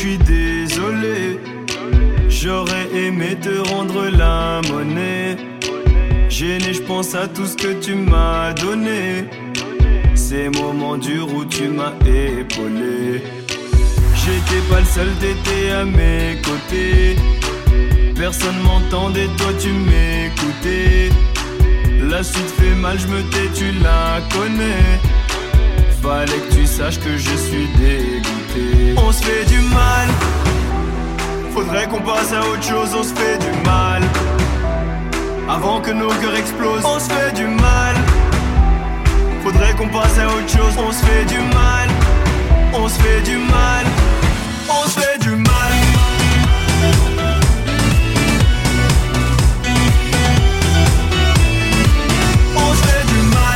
suis désolé. J'aurais aimé te rendre la monnaie. Gêné, je pense à tout ce que tu m'as donné. Ces moments durs où tu m'as épaulé. J'étais pas le seul, t'étais à mes côtés. Personne m'entendait, toi tu m'écoutais. La suite fait mal, je me tais, tu la connais. Fallait que tu saches que je suis dégoûté. On se fait du mal. Faudrait qu'on passe à autre chose, on se fait du mal. Avant que nos cœurs explosent, on se fait du mal. Faudrait qu'on passe à autre chose, on se fait du mal. On se fait du mal. On se fait du mal. On se fait du mal.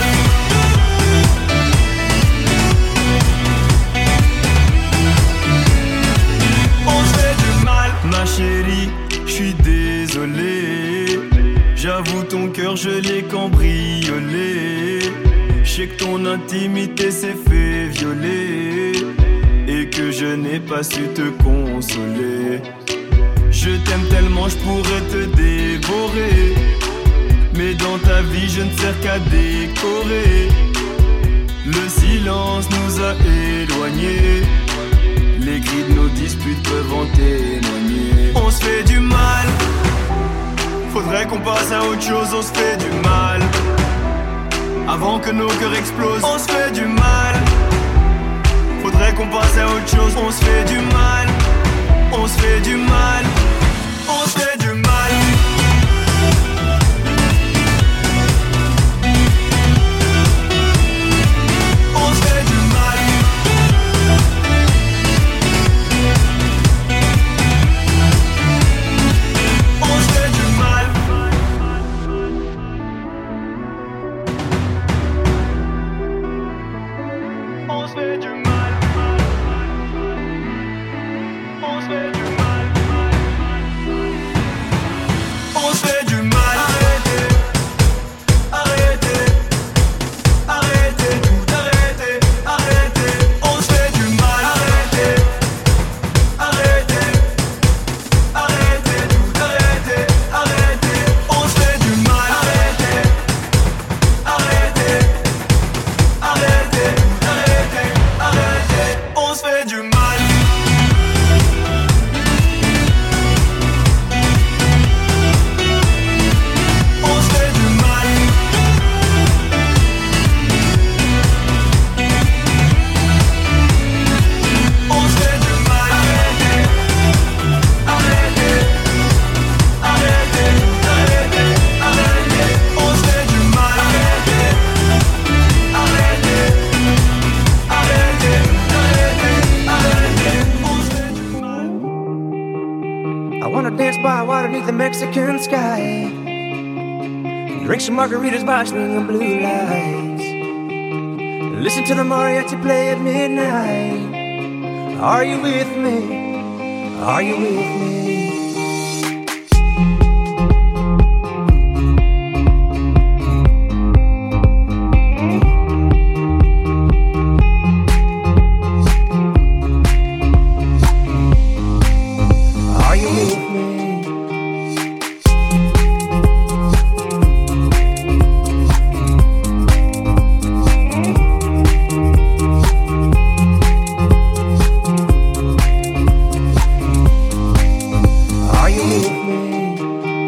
On se fait du mal. Ma chérie, je suis désolé. J'avoue ton cœur je l'ai cambriolé. Je sais que ton intimité s'est fait violer et que je n'ai pas su te consoler. Je t'aime tellement je pourrais te dévorer, mais dans ta vie je ne sers qu'à décorer. Le silence nous a éloignés, les cris de nos disputes peuvent en témoigner. On se fait du mal. Faudrait qu'on passe à autre chose, on se fait du mal. Avant que nos cœurs explosent, on se fait du mal. Faudrait qu'on passe à autre chose, on se fait du mal. On se fait du mal. On se fait du mal. On se fait du mal. On se fait du mal. On se fait du mal. On se fait du mal. On se fait du mal. Arrêtez, arrêtez, arrêtez, tout arrêtez, arrêtez. On se fait du mal. Arrêtez, arrêtez, arrêtez, tout arrêtez, arrêtez. On se fait du mal. Arrêtez, arrêtez, arrêtez, tout arrêtez, arrêtez. On se fait du mal. On se fait du mal. On se fait du mal. Arrêtez, arrêtez, arrêtez, arrêtez, arrêtez. On se fait du mal. Arrêtez, arrêtez, arrêtez, arrêtez. On se fait du mal. I wanna dance by water beneath the Mexican sky. Drink some margaritas by swinging blue lights. Listen to the mariachi play at midnight. Are you with me? Are you with me? Are you with me? Are you with me?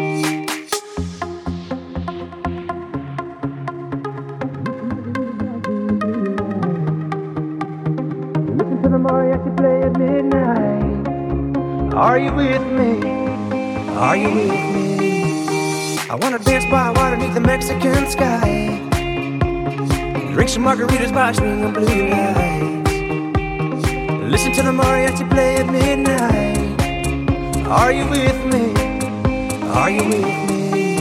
Listen to the mariachi play at midnight. Are you with me? Are you with me? I wanna dance by water beneath the Mexican sky. Drink some margaritas by swinging blue lights. Listen to the mariachi play at midnight. Are you with me? Are you with me?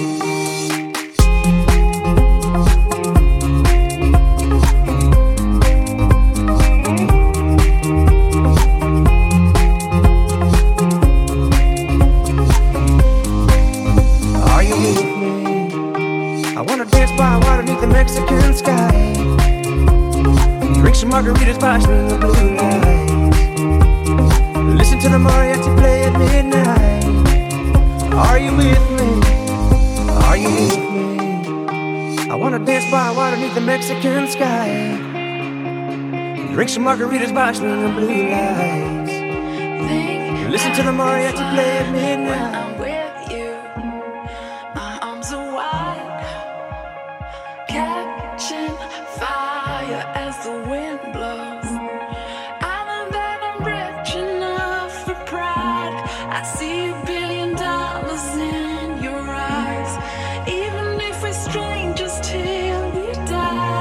Are you with me? I wanna dance by water beneath the Mexican sky. Drink some margaritas by swinging blue lights. Listen to the the mariachi play at midnight. Are you with me? Are you with me? I wanna dance by water beneath the Mexican sky. Drink some margaritas by swinging blue lights. Listen to the mariachi play at midnight. I'm with you, my arms are wide, catching fire as the wind blows. I know that I'm rich enough for pride. I see $1 billion in your eyes, even if we're strangers till we die.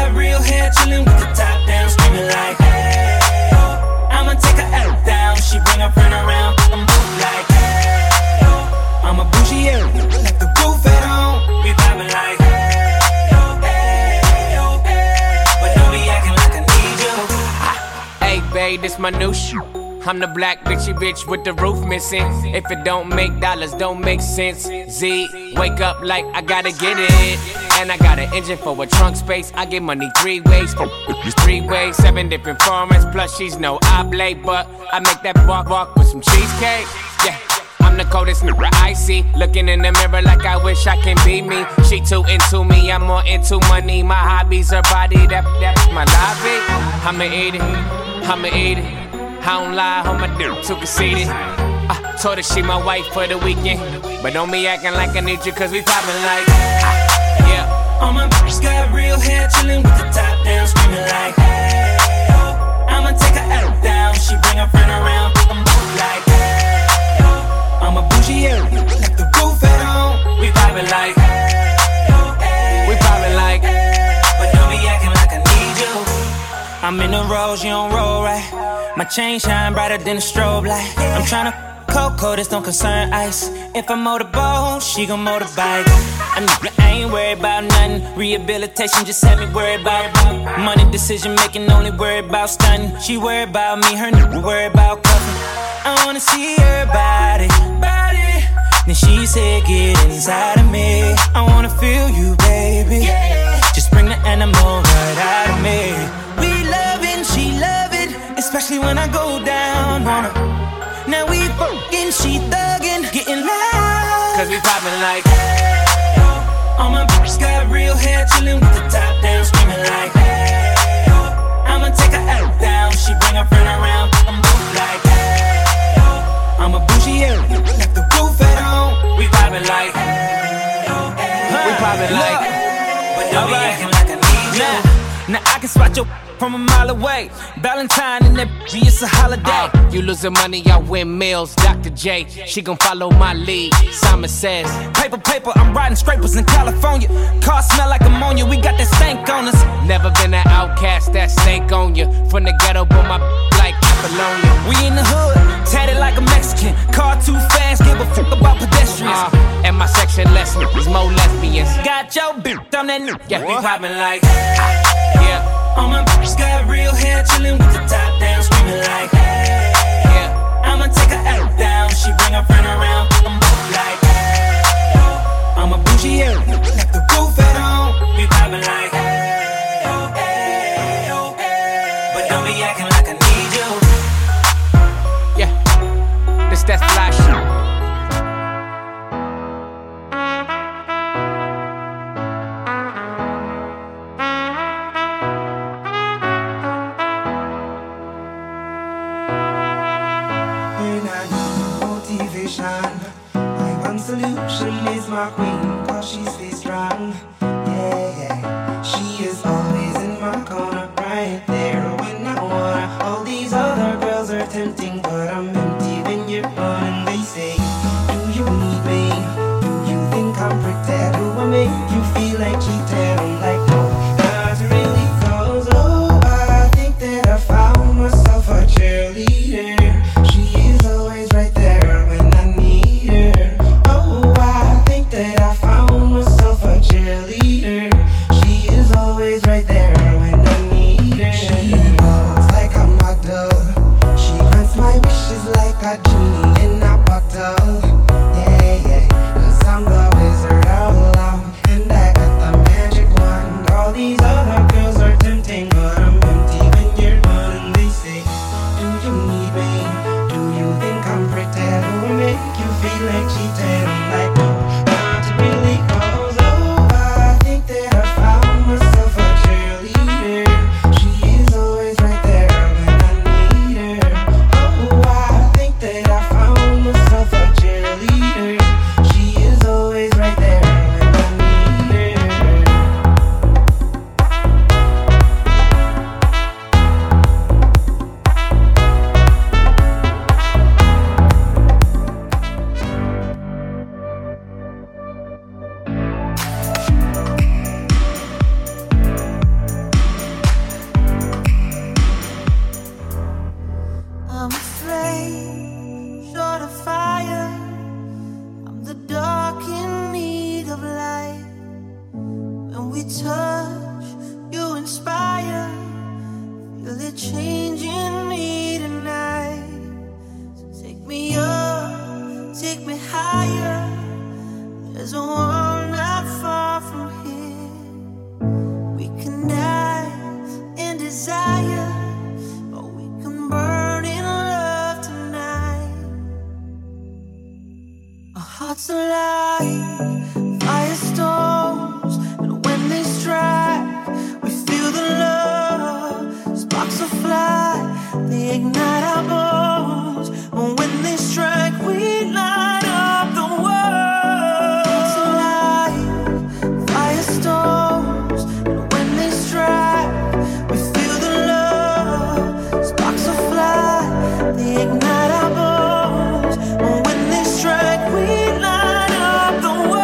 got real hair, chillin' with the top down, screaming like, hey, oh. I'ma take her out down, she bring her friend around, I'm move like, hey, oh. I'm a bougie, yeah, like the roof at home, we vibing like, hey, oh, hey, oh, hey. But don't be acting like I need you. Hey, babe, this my new shoe. I'm the black bitch with the roof missing. If it don't make dollars, don't make sense. Z, wake up like I gotta get it. And I got an engine for a trunk space. I get money 3 ways, 3 ways, 7 different formats. Plus she's no oblate, but I make that walk with some cheesecake. Yeah, I'm the coldest nigga I see. Looking in the mirror like I wish I can be me. She too into me, I'm more into money. My hobbies are body, that's my lobby. I'ma eat it. I don't lie, on my dick, too conceited. I told her she my wife for the weekend. But don't be acting like I need you, cause we poppin' like, yeah. All my bitches got real hair, chillin' with the top down, screaming like, hey, oh. I'ma take her out down, she bring her friend around, I'm like, hey, oh. I'm a bougie, yeah, like the roof at home, we vibin' like, hey, oh, hey, we poppin' like, hey. But don't be acting like I need you. I'm in the rose, you don't roll right. My chain shine brighter than a strobe light. I'm tryna Coco, this don't concern ice. If I motorboat, she gon' motorbike. I ain't worried about nothing. Rehabilitation just had me worried about money. Decision making, only worried about stunning. She worried about me, her nigga worried about cuffing. I wanna see her body. Then she said, get inside of me. I wanna feel you, baby. Just bring the animal right out of me. We lovin', she love it, especially when I go down on her. Now we fucking, she thuggin', getting loud. Cause we poppin' like, hey, oh. All my bitches got real hair, chillin' with the top down, screaming like, hey, oh. I'ma take her out down, she bring her friend around, I'm both like, hey, oh. I'm a bougie, yeah, like the roof at home. We poppin' like, hey, oh, hey. We poppin' like, but don't be acting like I need you. Now I can spot your from a mile away. Valentine and that bitch, it's a holiday. You losing money, I win meals. Dr. J, she gon' follow my lead. Simon says, paper, I'm riding scrapers in California. Car smell like ammonia, we got that stank on us. Never been an outcast, that stank on you. From the ghetto, but my like Apollonia. We in the hood, tatted like a Mexican. Car too fast, give a fuck about pedestrians. And my section less niggas, more lesbians. Got your bitch on that new. Yeah, we poppin' like, yeah. All my bitches got real hair, chillin' with the top down, screaming like, hey, yeah. I'ma take her out down, she bring her friend around, I'm both like, hey, oh. I'm a bougie, yeah, like the roof at home, we vibin' like, hey, oh, hey, oh, hey. But don't be acting like I need you. Yeah, this that fly shit. My one solution is my queen, cause she stays strong. Yeah, she is always in my corner, right there when I wanna. All these other girls are tempting, but I'm empty when you're on. And they say, do you need me? Do you think I'm pretend? Do I make you feel like cheating? I'm like, no, not really, cause oh, I think that I found myself a cheerleader. She is always right there. Magic touch, you inspire. Feel it changing me tonight. So take me up, take me higher. There's a world not far from here. We can die in desire, or we can burn in love tonight. Our hearts alive, firestorms, and when they strike, we feel the love. Sparks will fly, they ignite our bones. And when they strike, we light up the world. Hearts alive, firestorms, and when they strike, we feel the love. Sparks will fly, they ignite our bones. And when they strike, we light up the world.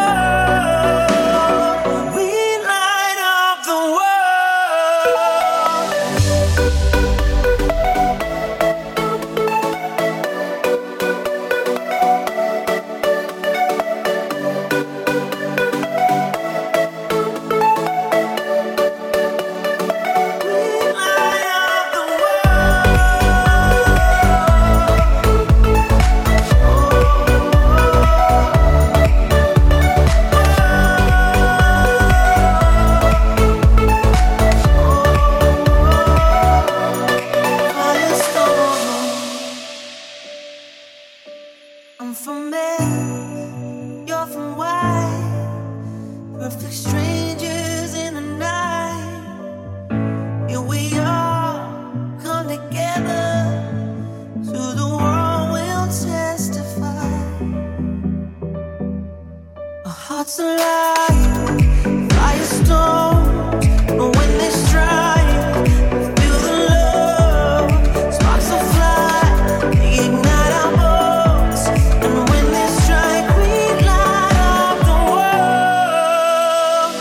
I'm from X, you're from Y. Perfect strangers in the night. Here we are, come together. To the world we'll testify. Our hearts alive, firestorms. But when they strike, we feel the love. Sparks will fly, they ignite our bones. And when they strike, we light up the world.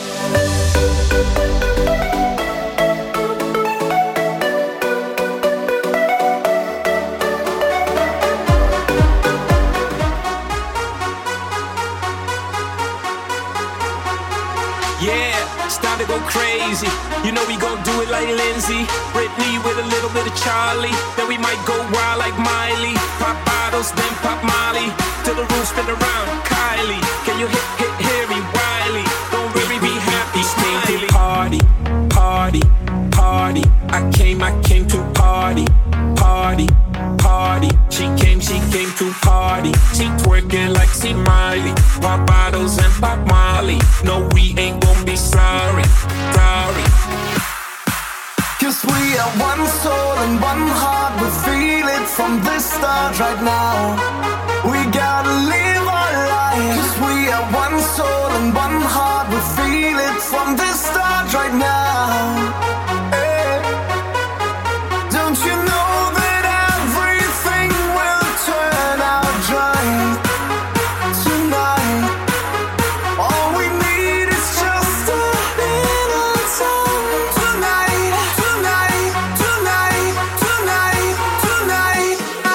Yeah, it's time to go crazy. You know we gon' do it like Lindsay, Britney with a little bit of Charlie. Then we might go wild like Miley. Pop bottles, then pop Molly. Till the roof spin around. Kylie, can you hear me? Wiley, don't really be happy. Smiley. Party, party, party. I came to party, party, party. She came to party. She twerking like she Miley. Pop bottles and pop Molly. No, we ain't gon' be sorry, sorry. Cause we are one soul and one heart. We feel it from the start right now. We gotta live our life. Cause we are one soul and one heart. We feel it from the start right now. Hey. Don't you know that everything will turn out right tonight? All we need is just a little time. Tonight, tonight, tonight, tonight, tonight.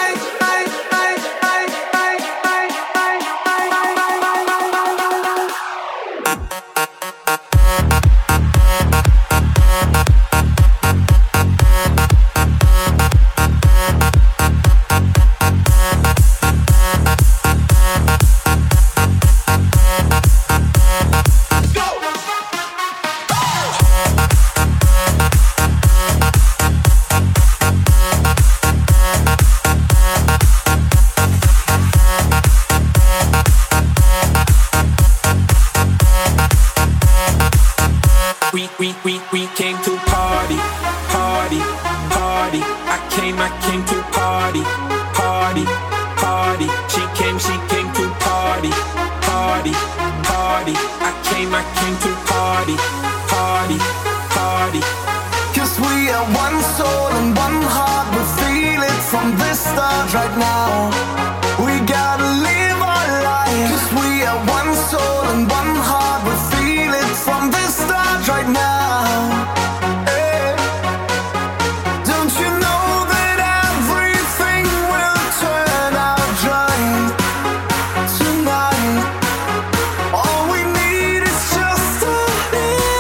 We came to party, party, party. I came to party, party, party. She came to party, party, party. I came to party, party, party. Cause we are one soul and one heart. We feel it from the start right now. We gotta live our life. Cause we are one soul and one heart. We feel it from the start right now. Hey. Don't you know that everything will turn out right tonight? All we need is just a little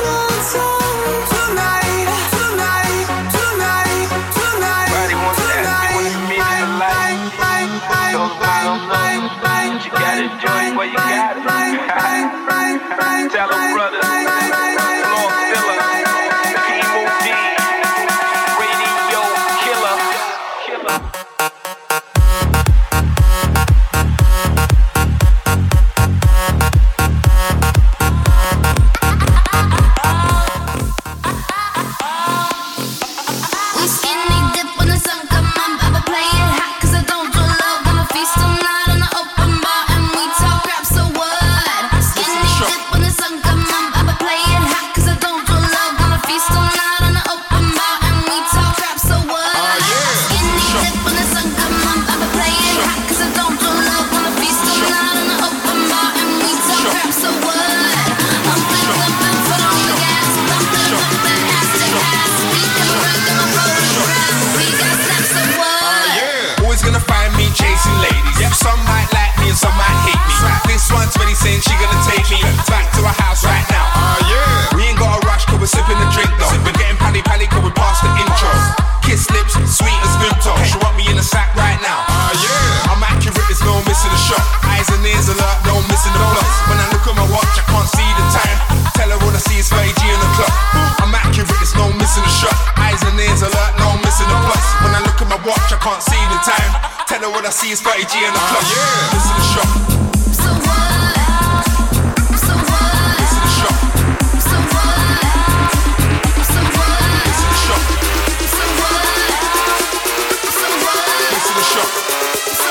when I see it's Fatty G in the club. Yeah. Listen to the shot. So what? So what? Listen to the shot. So what? So what? Listen to the shot. So what? So what? Listen to the shot. So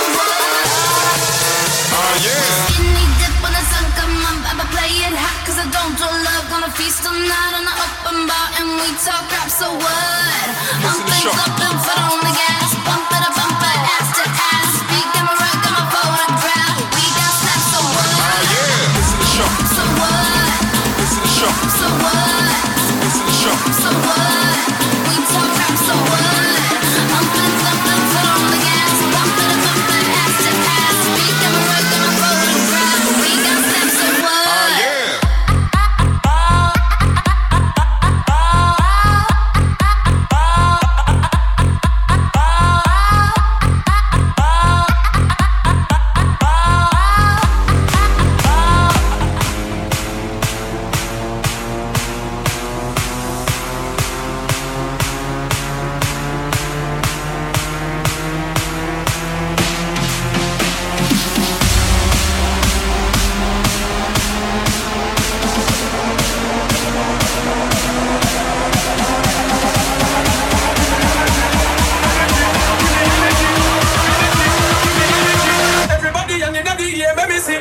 what? Yeah. Skinny dip when the sun come up, I'ma play it hot 'cause I don't do love. Gonna feast all night on the open bar and we talk rap. So what? I'm things up and foot on the gas, bump it up, ass to ass. Speak on my right, got my photograph. We got snaps. So what? Yeah. Listen to the shot. So what? Listen to the shot. So what? Listen to the shot. So what? We talk rap. So what? I'm things up and foot on the gas, bump it up, ass to ass. Speak on my right, got my photograph. We got snaps. So what? Yeah. Everybody and in the air, let me see.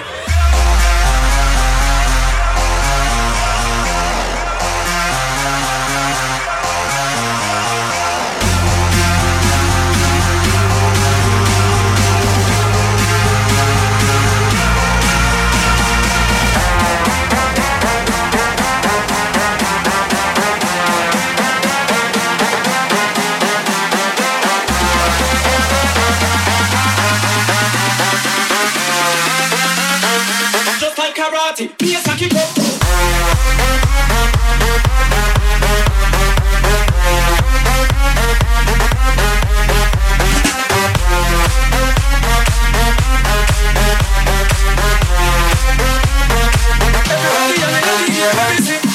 Just like karate, Miyazaki Pop. Everybody and in the air, let me see.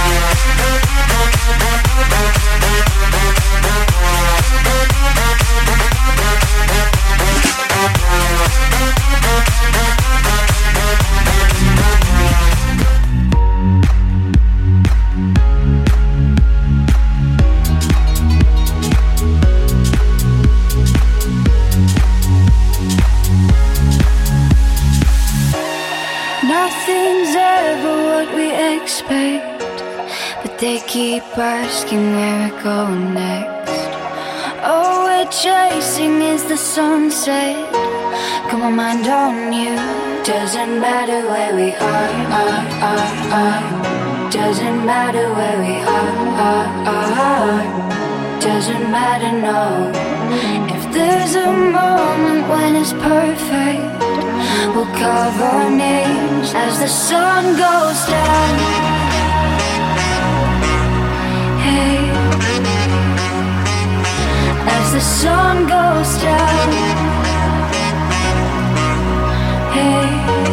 Nothing's ever what we expect, but they keep asking where we're going next. All we're chasing is the sunset. Got my mind on you. Doesn't matter where we are. Doesn't matter where we are. Doesn't matter, no. If there's a moment when it's perfect, we'll carve our names as the sun goes down. Hey, as the sun goes down. Hey,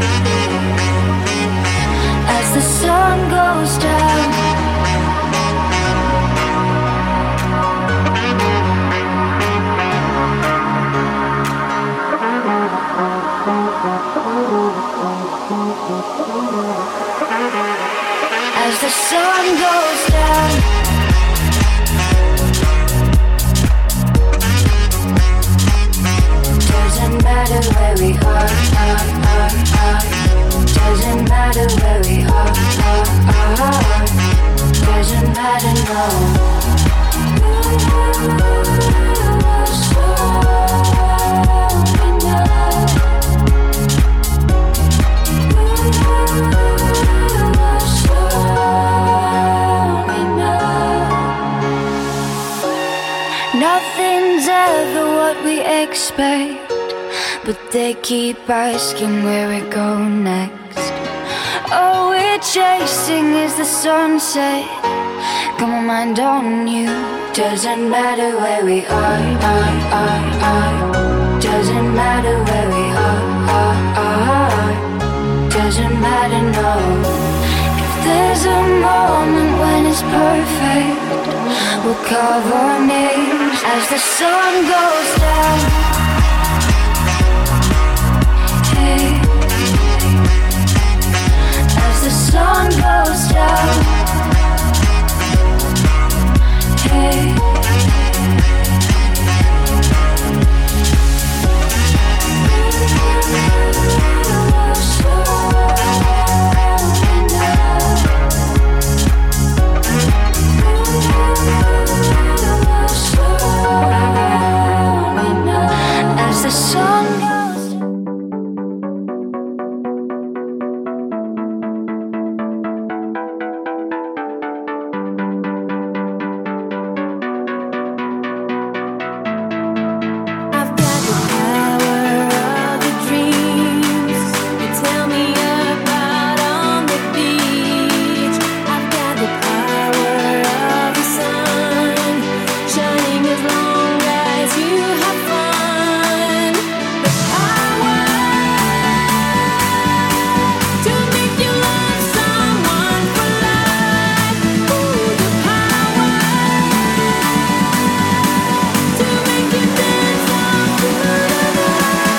as the sun goes down. As the sun goes down. Doesn't matter where we are. Doesn't matter where we are. Doesn't matter, no. Nothing's ever what we expect, but they keep asking where we're going next. All we're chasing is the sunset. Got my mind on you. Doesn't matter where we are. Doesn't matter where we are. Doesn't matter, no. If there's a moment when it's perfect, we'll carve our names as the sun goes down. sun goes down, hey. As the sun goes, I've got the power of the dreams you tell me about on the beach. I've got the power of the sun shining as long as you have fun. The power to make you love someone for life. Ooh, the power to make you dance all through the night.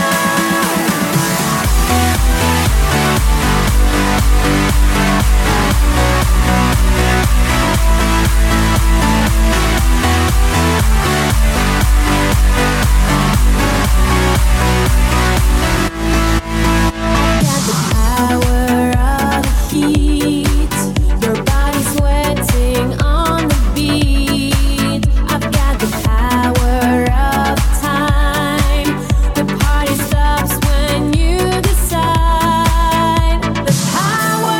Got the power of the heat, your body sweating on the beat. I've got the power of time, the party stops when you decide. The power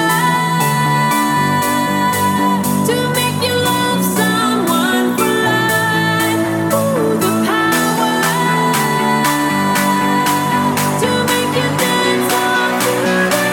to make you love someone for life. Ooh, the power to make you dance all through the night.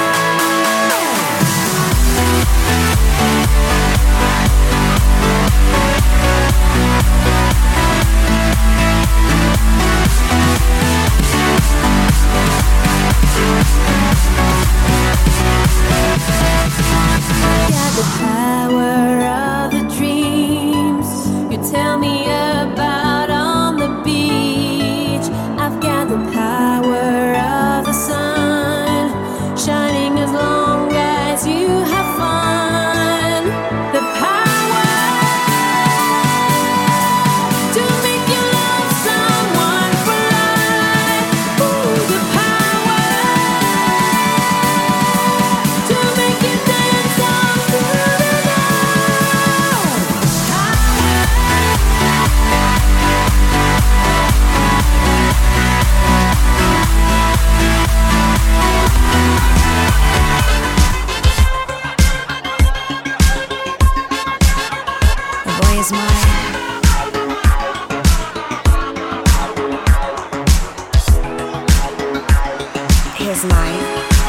Got the power of the dreams you tell me about on the beach. I've got the power of the sun shining as long as you have fun. The power to make you love someone for life. Ooh, the power to make you dance all through the night. The boy is mine. He's mine.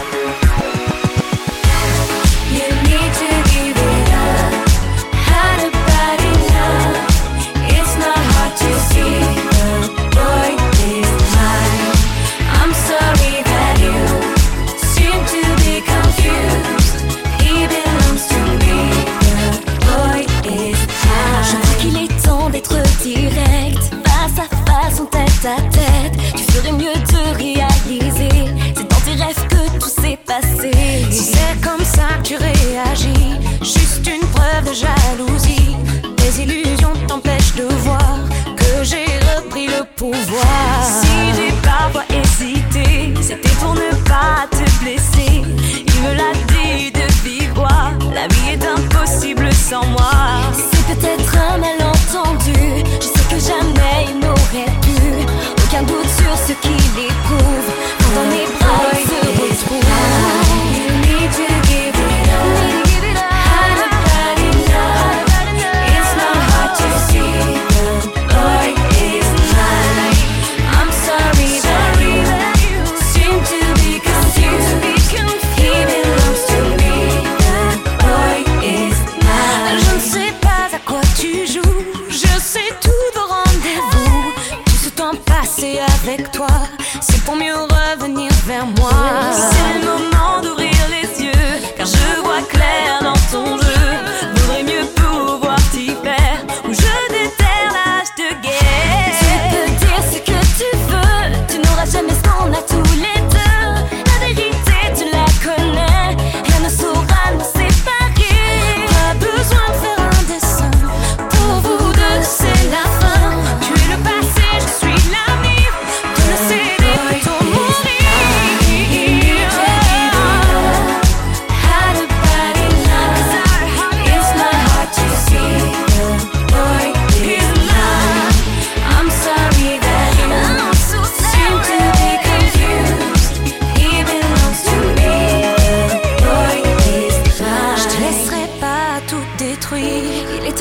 You need to give it up. Had a bad enough. It's not hard to see. The boy is mine. I'm sorry that you seem to be confused. He belongs to me. The boy is mine. Je crois qu'il est temps d'être direct, face à face, en tête à tête. Tu ferais mieux de réaliser, c'est dans tes rêves que tout s'est passé. Si c'est comme ça que tu réagis, juste une preuve de jalousie. Tes illusions t'empêchent de voir que j'ai repris le pouvoir. Si j'ai parfois hésité, c'était pour ne pas te blesser. Il me l'a dit de vive voix, la vie est impossible sans moi. C'est peut-être un malentendu, je sais que jamais il n'aurait pu. Aucun doute sur ce qu'il éprouve quand dans mes bras il se retrouve. You need to give it up. Had a bad enough. It's not hard to see. The boy is mine. I'm sorry that you seem to be confused. He belongs to me. The boy is mine. Je ne sais pas à quoi tu joues. Je sais tout de rendez-vous. Tout ce temps passé avec toi, c'est pour mieux revenir vers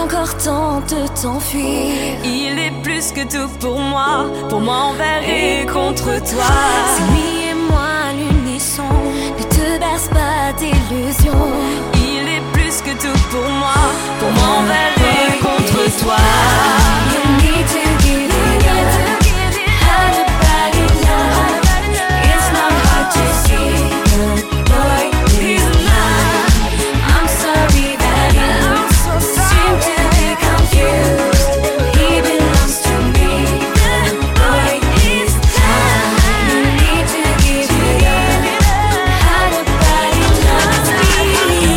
encore temps de t'enfuir. Il est plus que tout pour moi envers et contre toi. C'est lui et moi à l'unisson, ne te berce pas d'illusions. Il est plus que tout pour moi envers et contre toi. You need to give it up. How to bad enough. It's not hard to see. Good boy, please not. I'm sorry that you seem to be confused. He belongs to me. Good boy, he's mine. You need to give it up. How to bad enough.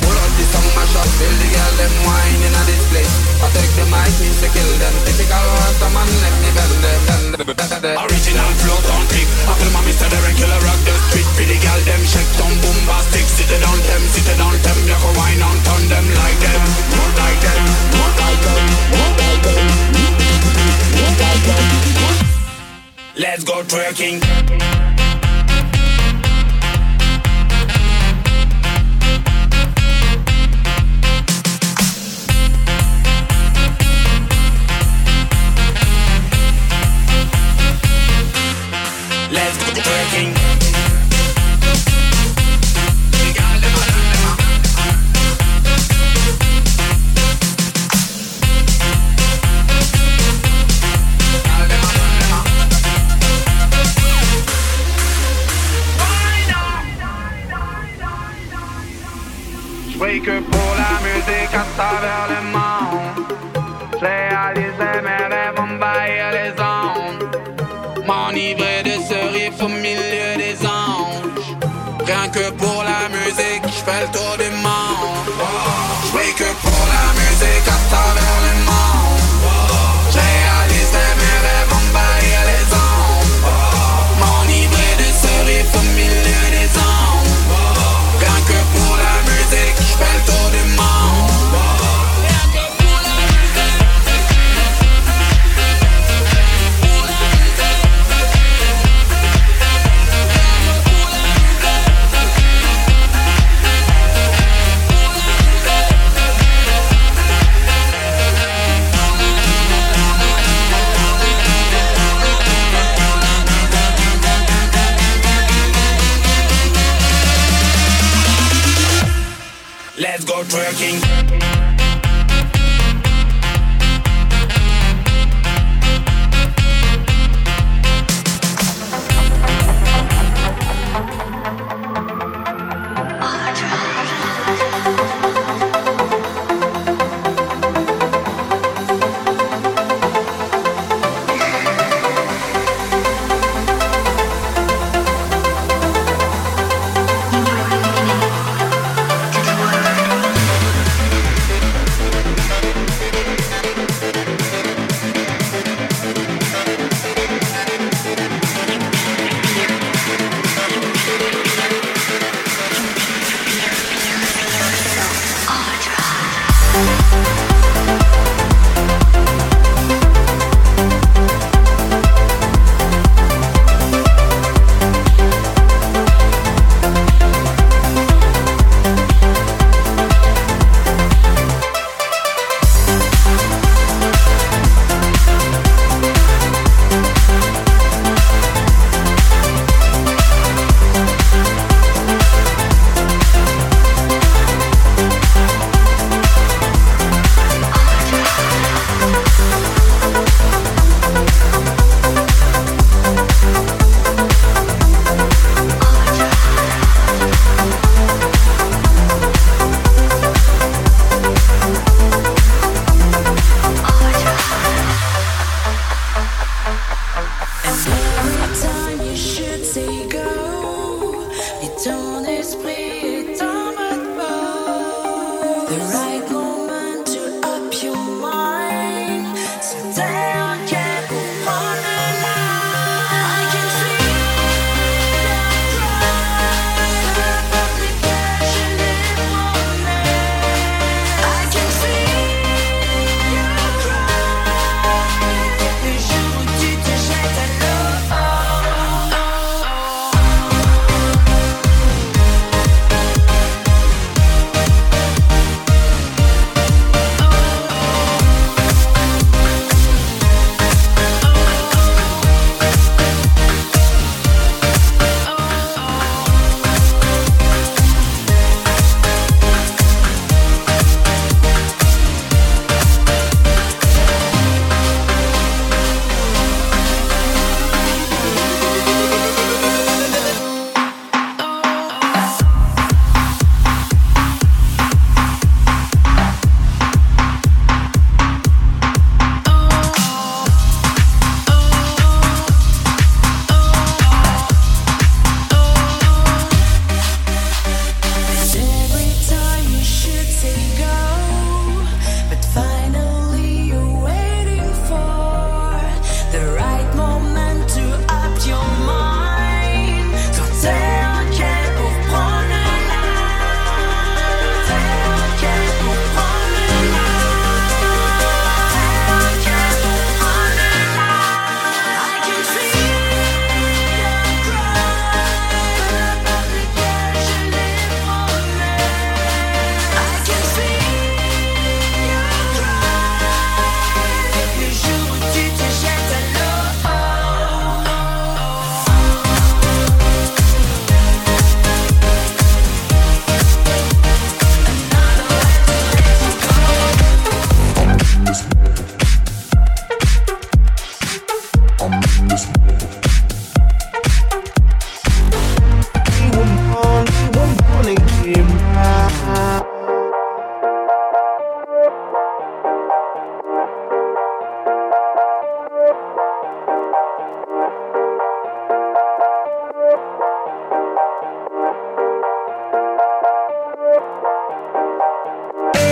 Pull out the song mash up, feel the girl them wine in a this place. I take the mic, means to kill them. Typical rasta man, let me bend them. Original flow don't click. I feel my Mr. The regular rock the street. Pretty girl them shake down bombastic. Sit it on them, sit it on them. You go wine on turn them like them. More like them, more like them, more like them, more like them. Let's go twerking. Let's go twerking. Oui que pour la musique à travers le monde, j'ai réalisé mes rêves envahir les ondes, m'enivrer de ce riff au milieu des anges. Rien que pour la musique, j'fais le tour du monde. Oui que pour la musique à travers le monde, j'ai réalisé mes rêves envahir les ondes, m'enivrer de ce riff au milieu des anges. Rien que pour la musique, j'fais le tour du monde. Rien que pour la musique. Pour la musique. Pour la musique. Let's go twerking.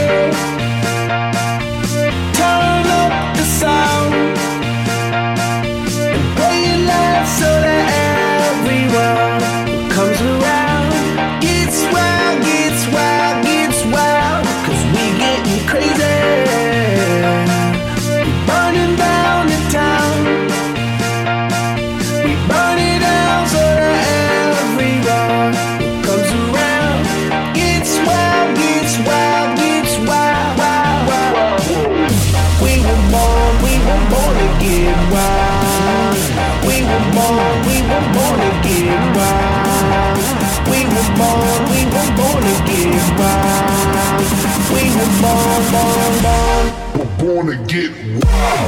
Turn up the sound and play it loud so that everyone comes around. Gets wild, gets wild, gets wild, 'cause we getting crazy. We burning down the town. We burn it down so that everyone comes around. Gets wild, gets wild, gets wild, wild, wild. We were born to get wild. We were born to get wild. We were born to get wild. We were born to get wild.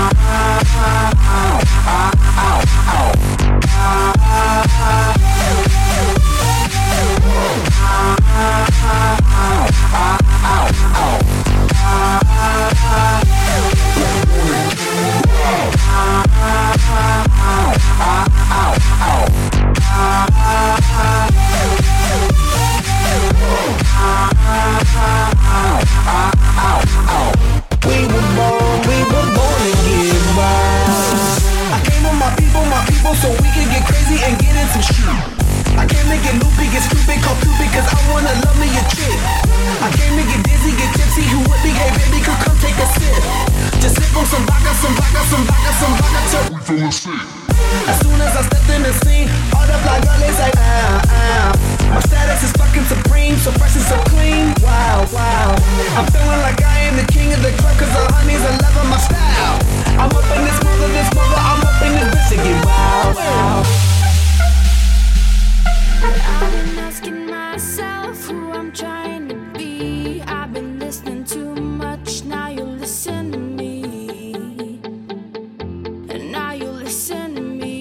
So we can get crazy and get into shit. I came to get loopy, get stupid, call Cupid, 'cause I wanna love me a chick. I came to get dizzy, get tipsy, who with me, hey baby, could come take a sip. Just sip on some vodka, some vodka, some vodka, some vodka, till we feelin' sick. As soon as I stepped in the scene, all the black girl is like, My status is fucking supreme, so fresh and so clean. Wow, wow. I'm feeling like I am the king of the club, 'cause the honeys are loving my style. I'm up in this mother, I'm up in this bitch to get wild, wow. I've been asking myself who I'm trying to be. I've been listening too much, now you listen to me. And now you listen to me.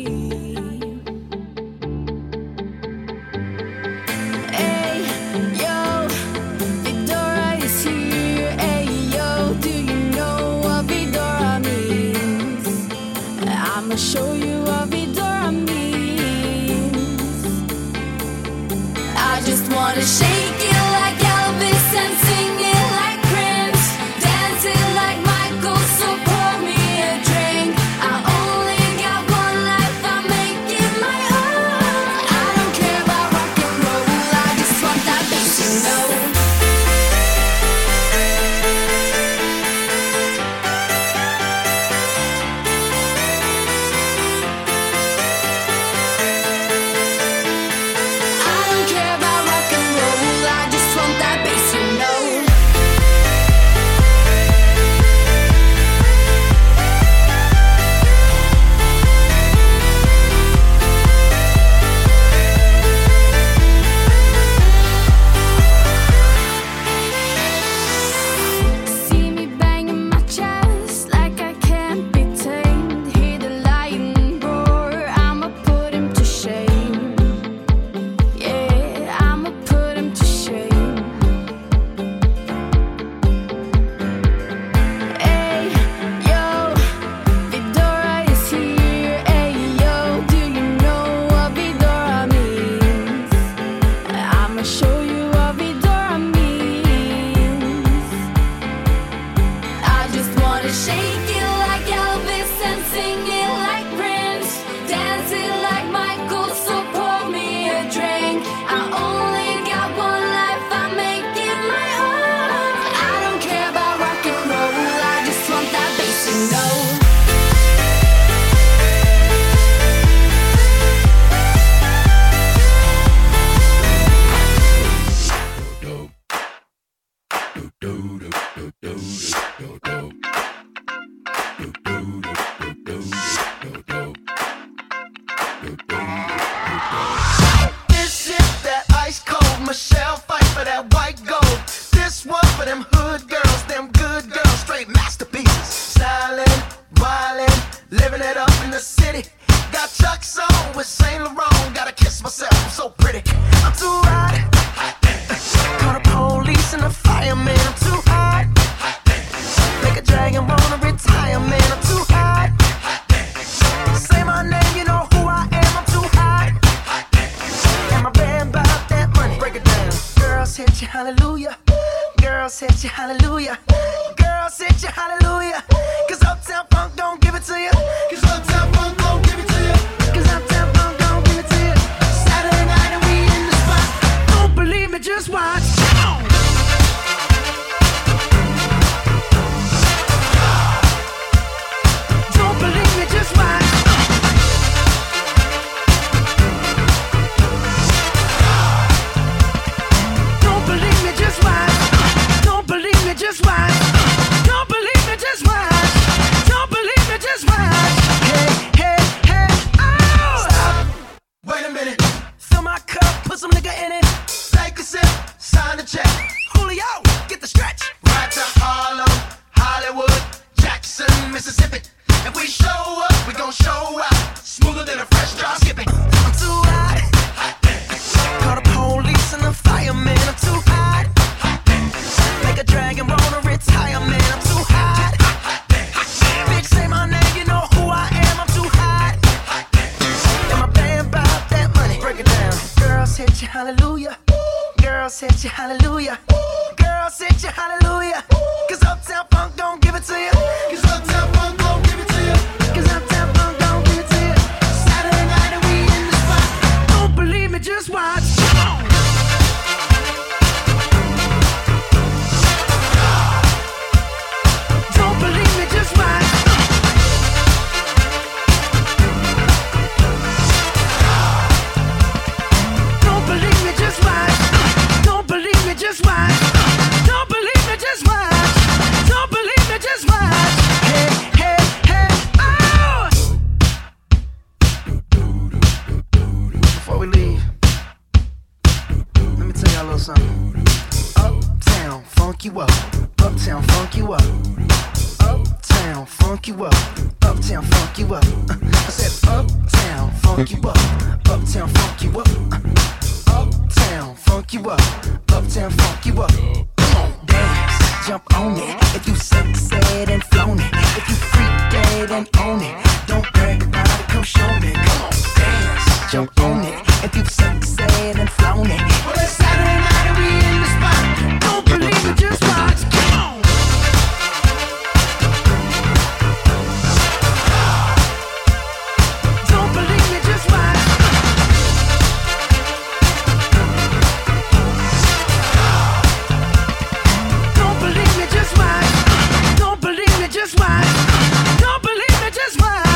Hey, yo, Vidora is here. Hey, yo, do you know what Vidora means? I'ma show you what Vidora means. I just wanna shake it like Elvis and sing it like Prince, dance it like Michael, so pour me a drink. I only got one life, I make it my own. I don't care about rock and roll, I just want that bass, you know. I don't care about rock and roll, I just want that bass, you know. See me banging my chest like I can't be tamed. Hear the lion roar, I'ma put him to shame. Yeah, I'ma put him to shame. Hey, yo, Vidora is here. Hey, yo, do you know what Vidora means? I'ma show you what Vidora means. I just wanna shake it like Elvis and sing it like Prince, dance it like Michael, so pour me a drink. I only got one life, I make it my own. I don't care about rock and roll, I just want that bass, you know. This is that ice cold Michelle fight for that white gold. This one for them hood girls, them good girls, straight masterpieces. Stylin', wildin', living it up in the city. Got Chuck's on with Saint Laurent, gotta kiss myself, I'm so pretty. I'm too hot. Call the police and the fireman, I'm too hot. Make a drive. Girls hit you, hallelujah. Girls hit you, hallelujah. Cause Uptown Funk don't give it to you. Cause Uptown Funk don't give it to you. Cause Uptown Funk don't give it to you. Saturday night and we in the spot. Don't believe me, just watch. Don't believe me, just watch. Don't believe me, just watch. Don't believe me, just watch. Don't believe me, just watch. Don't believe me, just watch. Hey, hey, hey, oh! Stop. Wait a minute. Fill my cup, put some nigga in it. Take a sip, sign the check. Julio, get the stretch. Right to Harlem, Hollywood, Jackson, Mississippi. If we show up, we gon' show out. Smoother than a fresh drop skipping. I'm too hot. Call the police and the fireman. I'm too hot. Make a dragon wanna retire, man. I'm too hot. Bitch, say my name, you know who I am. I'm too hot. And my band bought that money. Break it down. Girls hit you, hallelujah. Girls hit you, hallelujah. Girls hit you, hallelujah. Cause Uptown Funk don't give it to you. Cause Uptown Funk don't give it to you. Cause Uptown Funk don't give it to you. Saturday night and we in the spot. Don't believe me, just watch. Don't believe me, just watch. Don't believe me, just watch. Don't believe me, just watch. Don't believe me, just watch. Don't believe me, just watch. Hey, hey, hey, oh! Before we leave, let me tell y'all a little something. Uptown, funk you up. Uptown, funk you up. Uptown, funk you up. Uptown, funk you up. I said uptown, funk you up. Uptown, funk you up. Uptown, funk you up. Uptown, funk you up. Come on, dance, jump on it. If you sexed and flown it. If you freaked dead and own it. Don't brag about it, come show me. Come on, dance, jump on it. If you sexed and flown it. Well, it's Saturday night and we in the spot. Don't believe it, just watch. Come on. Don't believe me, just watch. Don't believe me, just watch. Don't believe me, just watch. Don't believe me, just watch.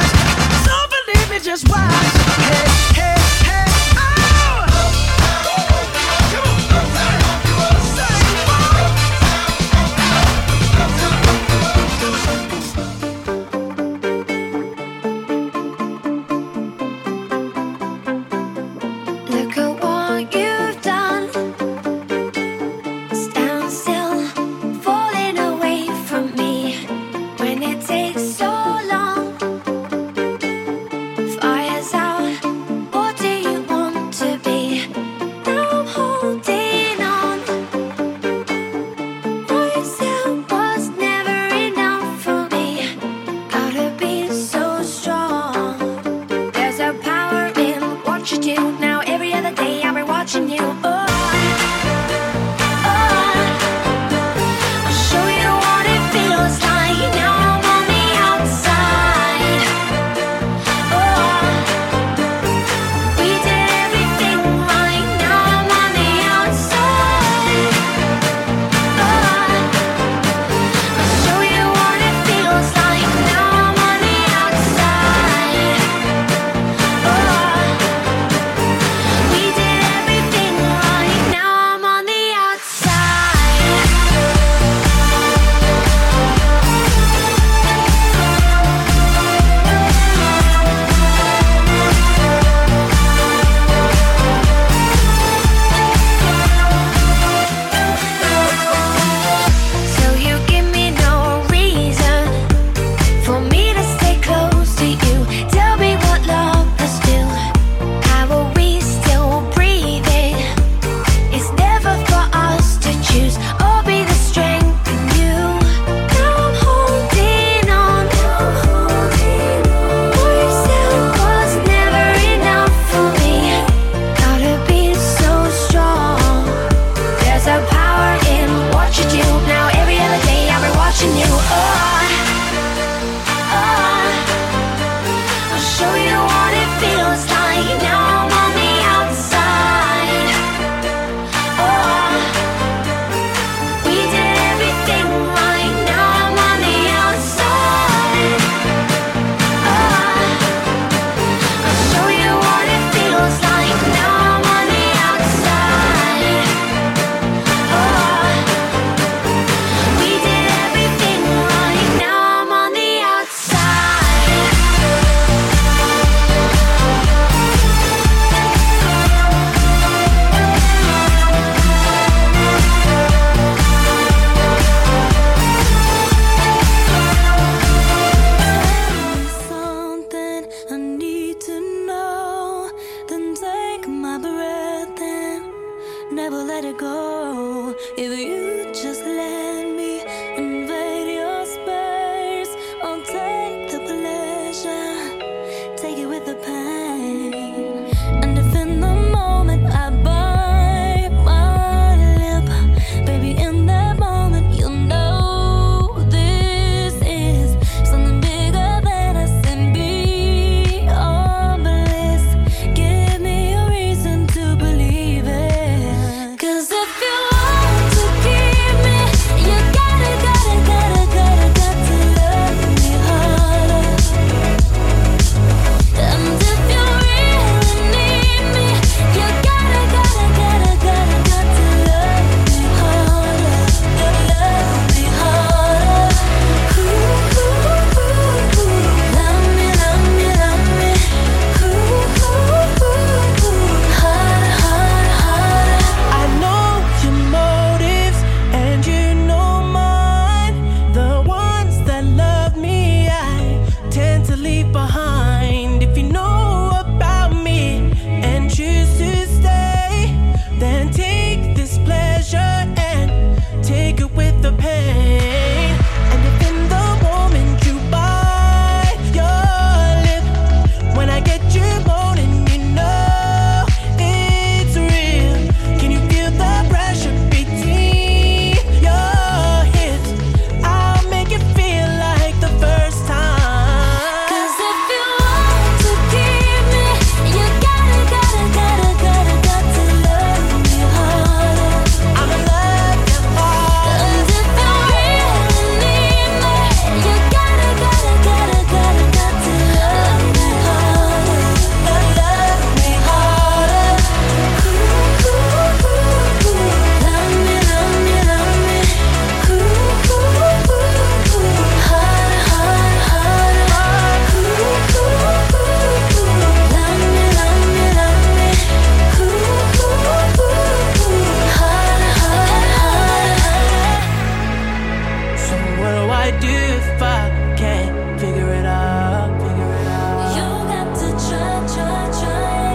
do if I can't figure it out? You got to try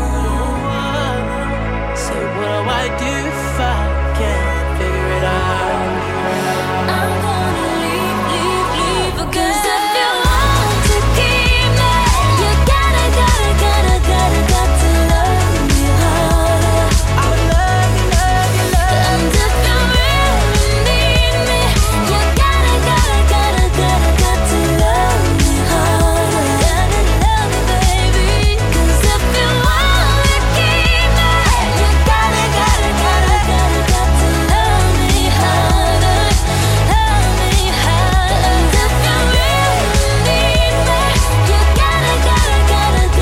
again. So what do I do if I can't figure it out? I'm gonna leave because if you want to keep me, you gotta got to love me harder. I love you. And if you really need me, you gotta got to love me harder. Gotta love me, baby. 'Cause if you want to keep me, you gotta got to love me harder. Love me harder. And if you really need me, you gotta got to love me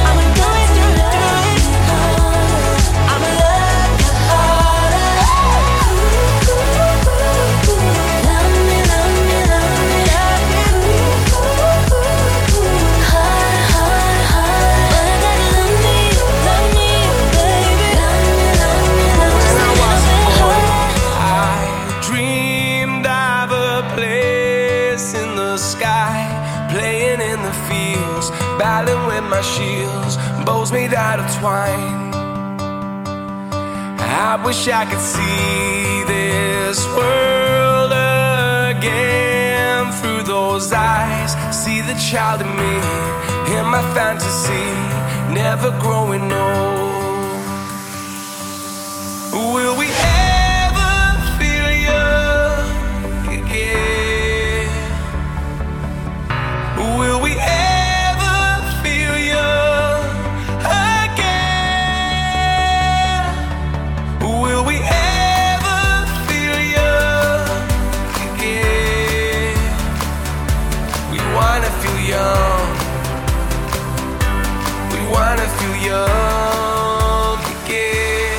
harder. I'ma love you harder. Love me. Hard. But I gotta love me, baby. I dreamed of a place in the sky, playing in the fields, battling with my shields, bows made out of twine. I wish I could see this world again through those eyes. See the child in me, in my fantasy, never growing old. Will we ever feel young again? Will we ever feel young again? Will we ever feel young again? We wanna feel young. We wanna feel young again.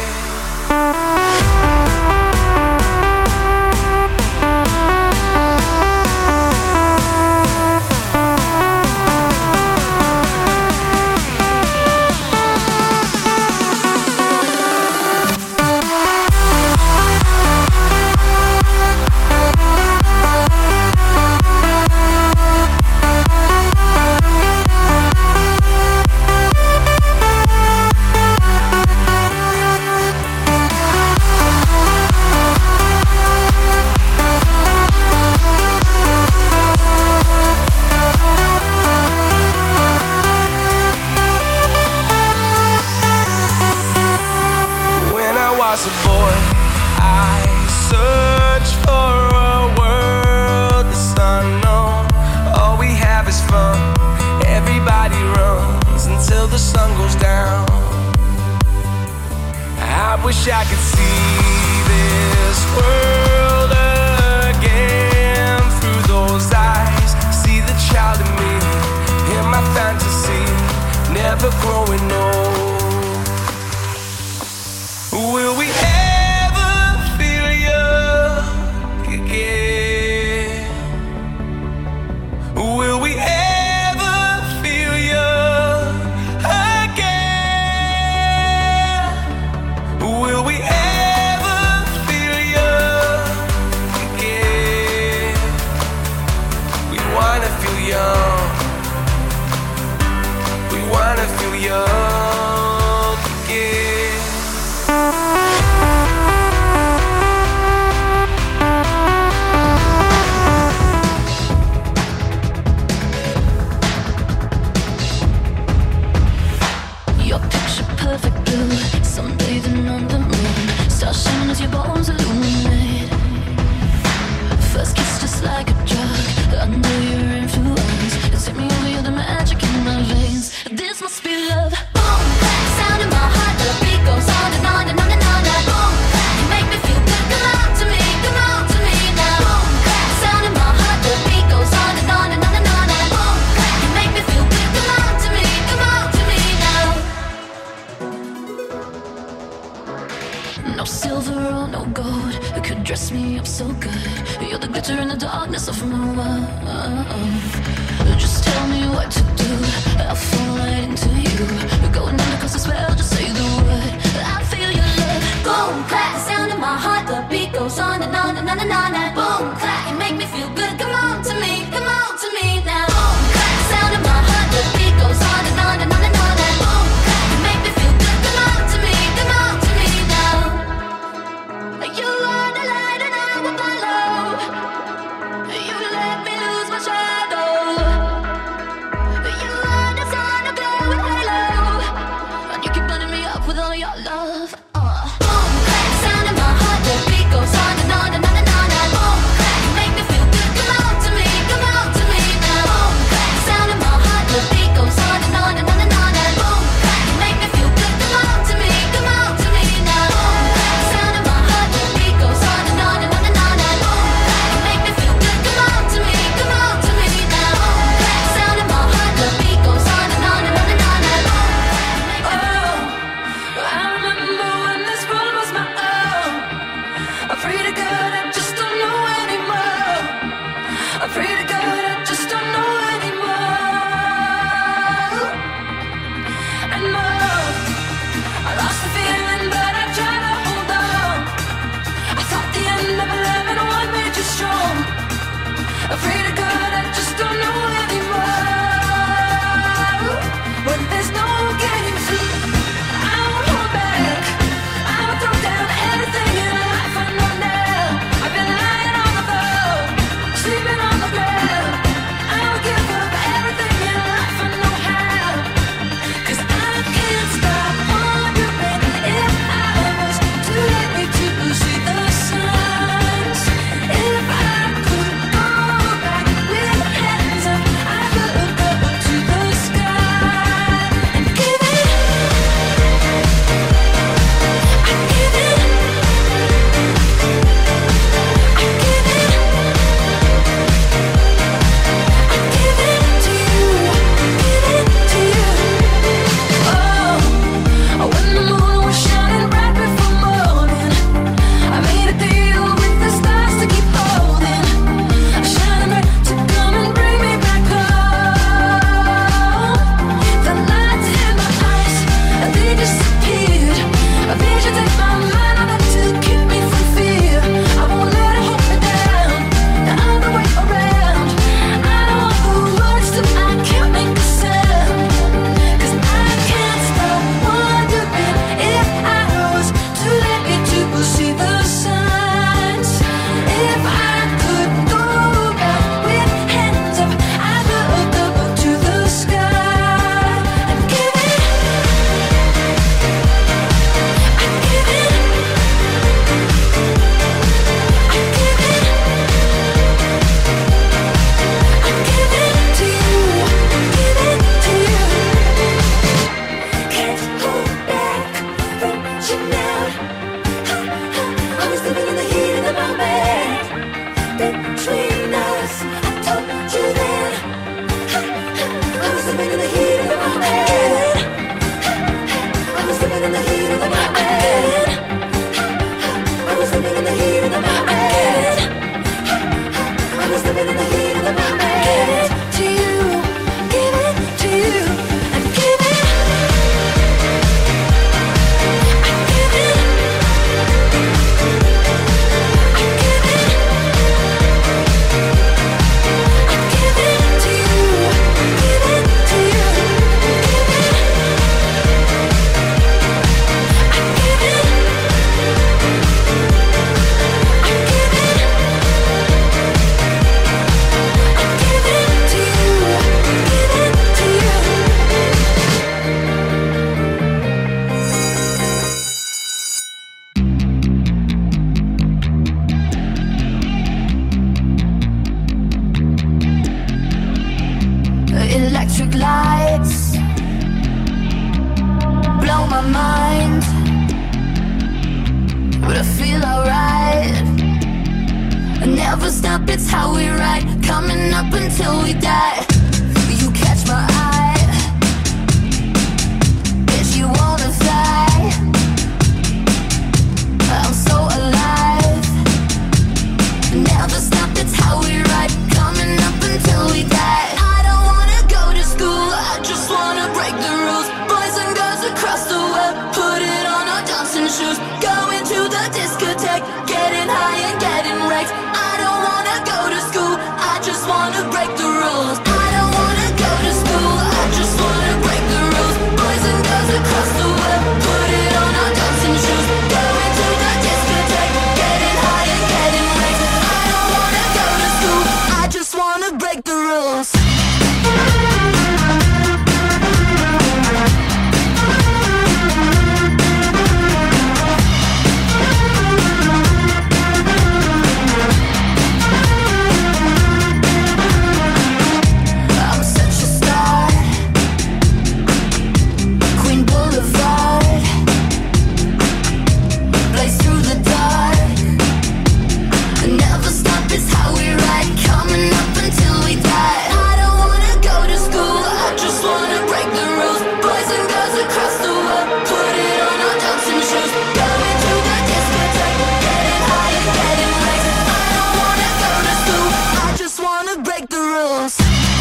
When I was a boy, I searched for a world that's unknown. All we have is fun. Everybody runs until the sun goes down. I wish I could see this world again through those eyes. See the child in me, in my fantasy, never growing old. Will we ever feel young again? Will we ever feel young again? Will we ever feel young again? We wanna feel young. We wanna feel young again. Your picture perfect blue, sunbathing on the moon, stars shining as your bones illuminate. First kiss just like a drug, under your influence, it's hit me over, you're the magic in my veins. This must be love. Boom, clap, sound in my heart, the beat goes on and on and on and on. Boom, clap, you make me feel good. Come on to me now. Boom, clap, sound in my heart, the beat goes on and on and on and on. Boom, clap, you make me feel good. Come on to me now. No silver or no gold could dress me up so good. You're the glitter in the darkness of my world. Just tell me what to do, I'll fall right into you. Going under 'cause I spell, just say the word. I feel your love. Boom, clap, sound in my heart, the beat goes on and on and on and on. Boom, clap, you make me feel good. Come on to me between us. I told you then. I was living in the heat of the moment. I was living in the heat of the moment. I was living in the heat of the moment. I was living in the heat of the moment. To you, give it to you. I give it. I give it. I give it. I give it to you. Give it to you. Give it. I give it. I give it. I give it to you. Give it to you. Electric lights blow my mind, but I feel alright. I never stop, it's how we ride, coming up until we die. You catch my eye, bitch, you wanna fly. I'm so alive. Never stop, it's how we ride, coming up until we die. I don't wanna go to school, I just wanna break the rules. Boys and girls across the world, put it on our dancing shoes. Going to the discotheque, getting high and getting wrecked. I don't wanna go to school, I just wanna break the rules. I don't wanna go to school, I just wanna break the rules. Boys and girls across the world, put it on our dancing shoes. Going to the discotheque, getting high and getting wrecked. I don't wanna go to school, I just wanna break the rules. I'm such a star, Queen Boulevard, blaze through the dark. Never stop, it's how we ride, coming up until we die. I don't wanna go to school, I just wanna break the rules. Boys and girls across the world, put it on our dancing shoes. Going to the discotheque, getting high and getting wrecked. I don't wanna go to school, I just wanna break the rules.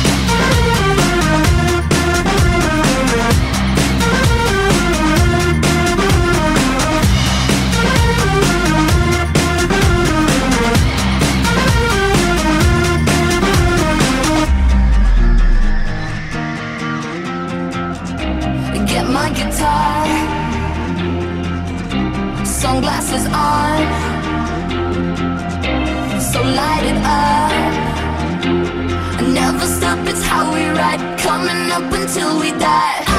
Get my guitar, sunglasses on, so light it up. Never stop, it's how we ride, coming up until we die.